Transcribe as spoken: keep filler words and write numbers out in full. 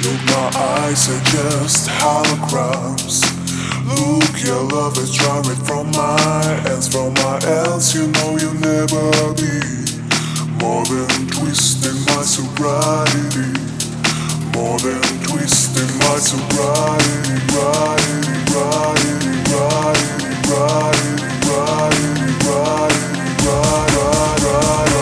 Look, my eyes are just holograms. Look, your love is drawing from my ends, from my ends. You know you'll never be more than twisting my sobriety, more than twisting my sobriety, righty, righty, righty, righty, righty, righty, righty,